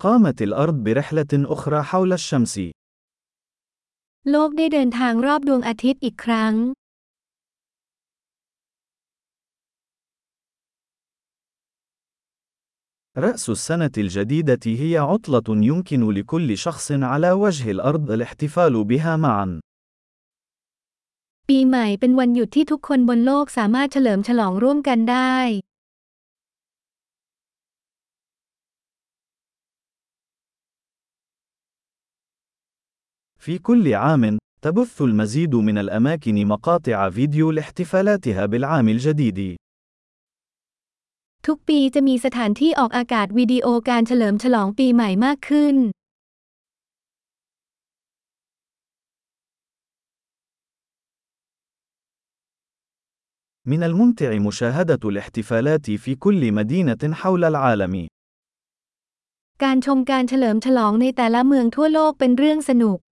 قامت الأرض برحلة أخرى حول الشمس. โลกได้เดินทางรอบดวงอาทิตย์อีกครั้ง رأس السنة الجديدة هي عطلة يمكن لكل شخص على وجه الأرض الاحتفال بها معا. ปีใหม่เป็นวันหยุดที่ทุกคนบนโลกสามารถเฉลิมฉลองร่วมกันได้ في كل عام، تبث المزيد من الأماكن مقاطع فيديو لاحتفالاتها بالعام الجديد. ทุกปีจะมีสถานที่ออกอากาศวิดีโอการเฉลิมฉลองปีใหม่มากขึ้น من الممتع مشاهدة الاحتفالات في كل مدينة حول العالم. การชมการเฉลิมฉลองในแต่ละเมืองทั่วโลกเป็นเรื่องสนุก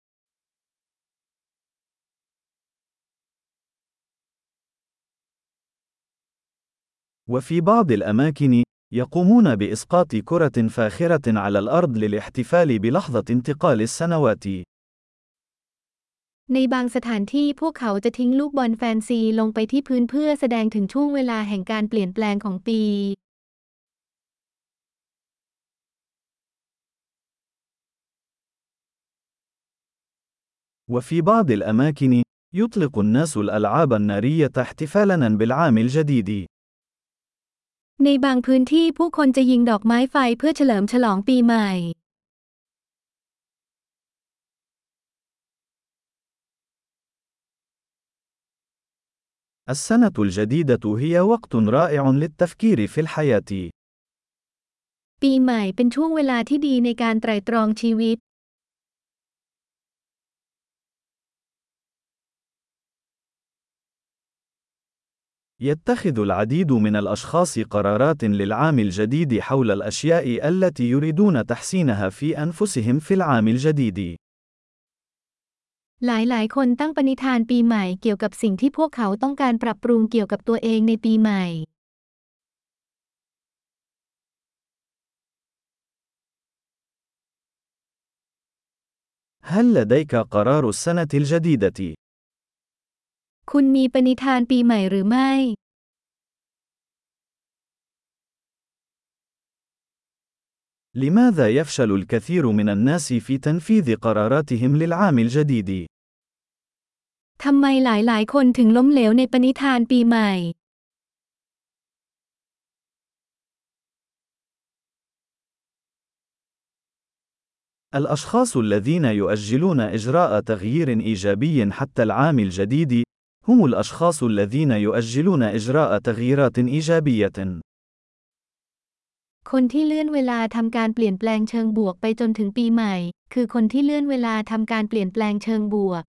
وفي بعض الأماكن، يقومون بإسقاط كرة فاخرة على الأرض للاحتفال بلحظة انتقال السنوات. ในบางสถานที่พวกเขาจะทิ้งลูกบอลแฟนซีลงไปที่พื้นเพื่อแสดงถึงช่วงเวลาแห่งการเปลี่ยนแปลงของปี وفي بعض الأماكن، يطلق الناس الألعاب النارية احتفالاً بالعام الجديد. ในบางพื้นที่ผู้คนจะยิงดอกไม้ไฟเพื่อเฉลิมฉลองปีใหม่ السنة الجديدة هي وقت رائع للتفكير في الحياة. ปีใหม่เป็นช่วงเวลาที่ดีในการไตร่ตรองชีวิต يتخذ العديد من الأشخاص قرارات للعام الجديد حول الأشياء التي يريدون تحسينها في أنفسهم في العام الجديد. หลายคนตั้งปณิธานปีใหม่เกี่ยวกับสิ่งที่พวกเขาต้องการปรับปรุงเกี่ยวกับตัวเองในปีใหม่ هل لديك قرار السنة الجديدة؟ คุณมีปณิธานปีใหม่หรือไม่ لماذا يفشل الكثير من الناس في تنفيذ قراراتهم للعام الجديد؟ ทำไมหลายคนถึงล้มเหลวในปณิธานปีใหม่ الأشخاص الذين يؤجلون إجراء تغيير إيجابي حتى العام الجديد هم الأشخاص الذين يؤجلون إجراء تغييرات إيجابية. คนที่เลื่อนเวลาทำการเปลี่ยนแปลงเชิงบวกไปจนถึงปีใหม่คือคนที่เลื่อนเวลาทำการเปลี่ยนแปลงเชิงบวก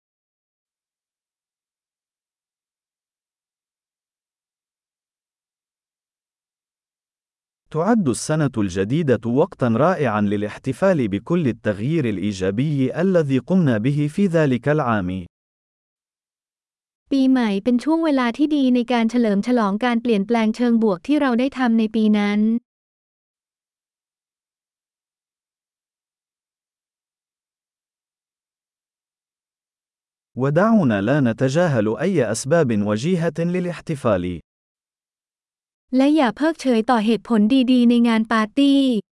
تعد السنة الجديدة وقتاً رائعاً للاحتفال بكل التغيير الإيجابي الذي قمنا به في ذلك العام. ปีใหม่เป็นช่วงเวลาที่ดีในการเฉลิมฉลองการเปลี่ยนแปลงเชิงบวกที่เราได้ทำในปีนั้น ودعونا لا نتجاهل أي أسباب وجيهة للاحتفال. และอย่าเพิกเฉยต่อเหตุผลดีๆในงานปาร์ตี้